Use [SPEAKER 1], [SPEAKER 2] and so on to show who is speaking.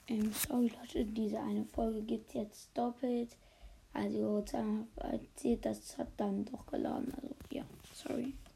[SPEAKER 1] Sorry Leute, diese eine Folge gibt jetzt doppelt. Also, das hat dann doch geladen. Also, ja, sorry.